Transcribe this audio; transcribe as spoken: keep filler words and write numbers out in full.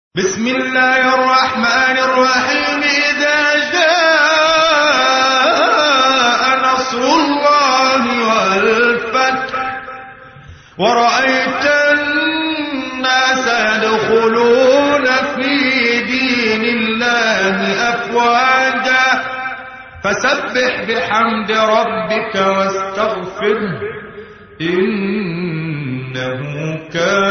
بسم الله الرحمن الرحيم. إذا جاء نصر الله والفتح ورأيت الناس يدخلون في دين الله أفواجا فسبح بحمد ربك واستغفره إنه كان